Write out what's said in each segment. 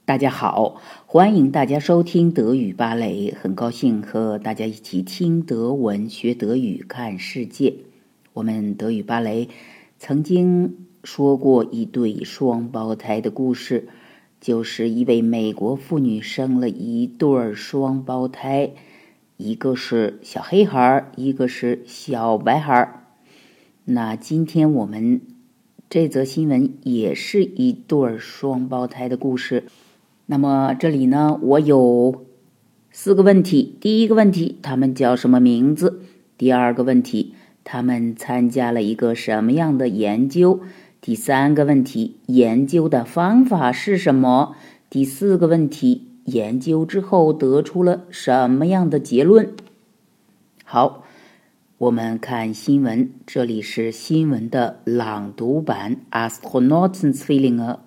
大家好，欢迎大家收听德语芭蕾，很高兴和大家一起听德文、学德语、看世界。我们德语芭蕾曾经说过一对双胞胎的故事，就是一位美国妇女生了一对双胞胎，一个是小黑孩，一个是小白孩。那今天我们这则新闻也是一对双胞胎的故事。那么这里呢，我有4个问题。第一个问题，他们叫什么名字？第二个问题，他们参加了一个什么样的研究？第三个问题，研究的方法是什么？第4个问题，研究之后得出了什么样的结论？好，我们看新闻，这里是新闻的朗读版。Astronautenzwillinge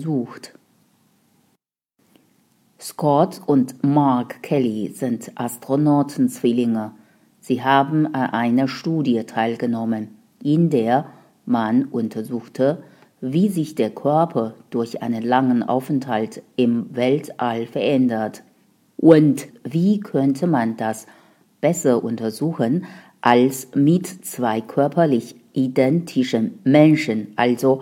untersucht。Scott und Mark Kelly sind Astronautenzwillinge. Sie haben an einer Studie teilgenommen, in der man untersuchte, wie sich der Körper durch einen langen Aufenthalt im Weltall verändert. Und wie könnte man das besser untersuchen als mit 2 körperlich identischen Menschen, also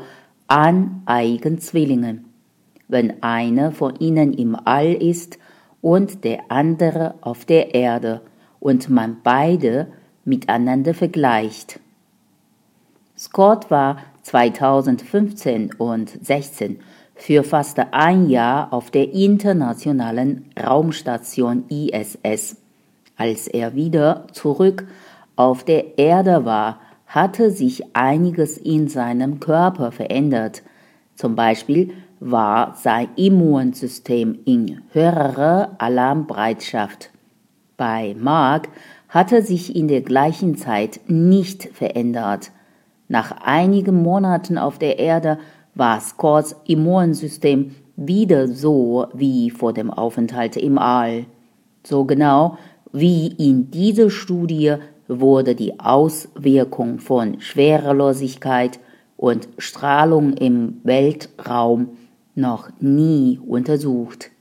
Aneigenzwillingen?Wenn einer von ihnen im All ist und der andere auf der Erde und man beide miteinander vergleicht. Scott war 2015 und 2016 für fast ein Jahr auf der internationalen Raumstation ISS. Als er wieder zurück auf der Erde war, hatte sich einiges in seinem Körper verändert. Zum Beispiel war sein Immunsystem in höherer Alarmbereitschaft. Bei Mark hatte sich in der gleichen Zeit nicht verändert. Nach einigen Monaten auf der Erde war Scotts Immunsystem wieder so wie vor dem Aufenthalt im All. So genau wie in dieser Studie wurde die Auswirkung von Schwerelosigkeit und Strahlung im Weltraum noch nie untersucht.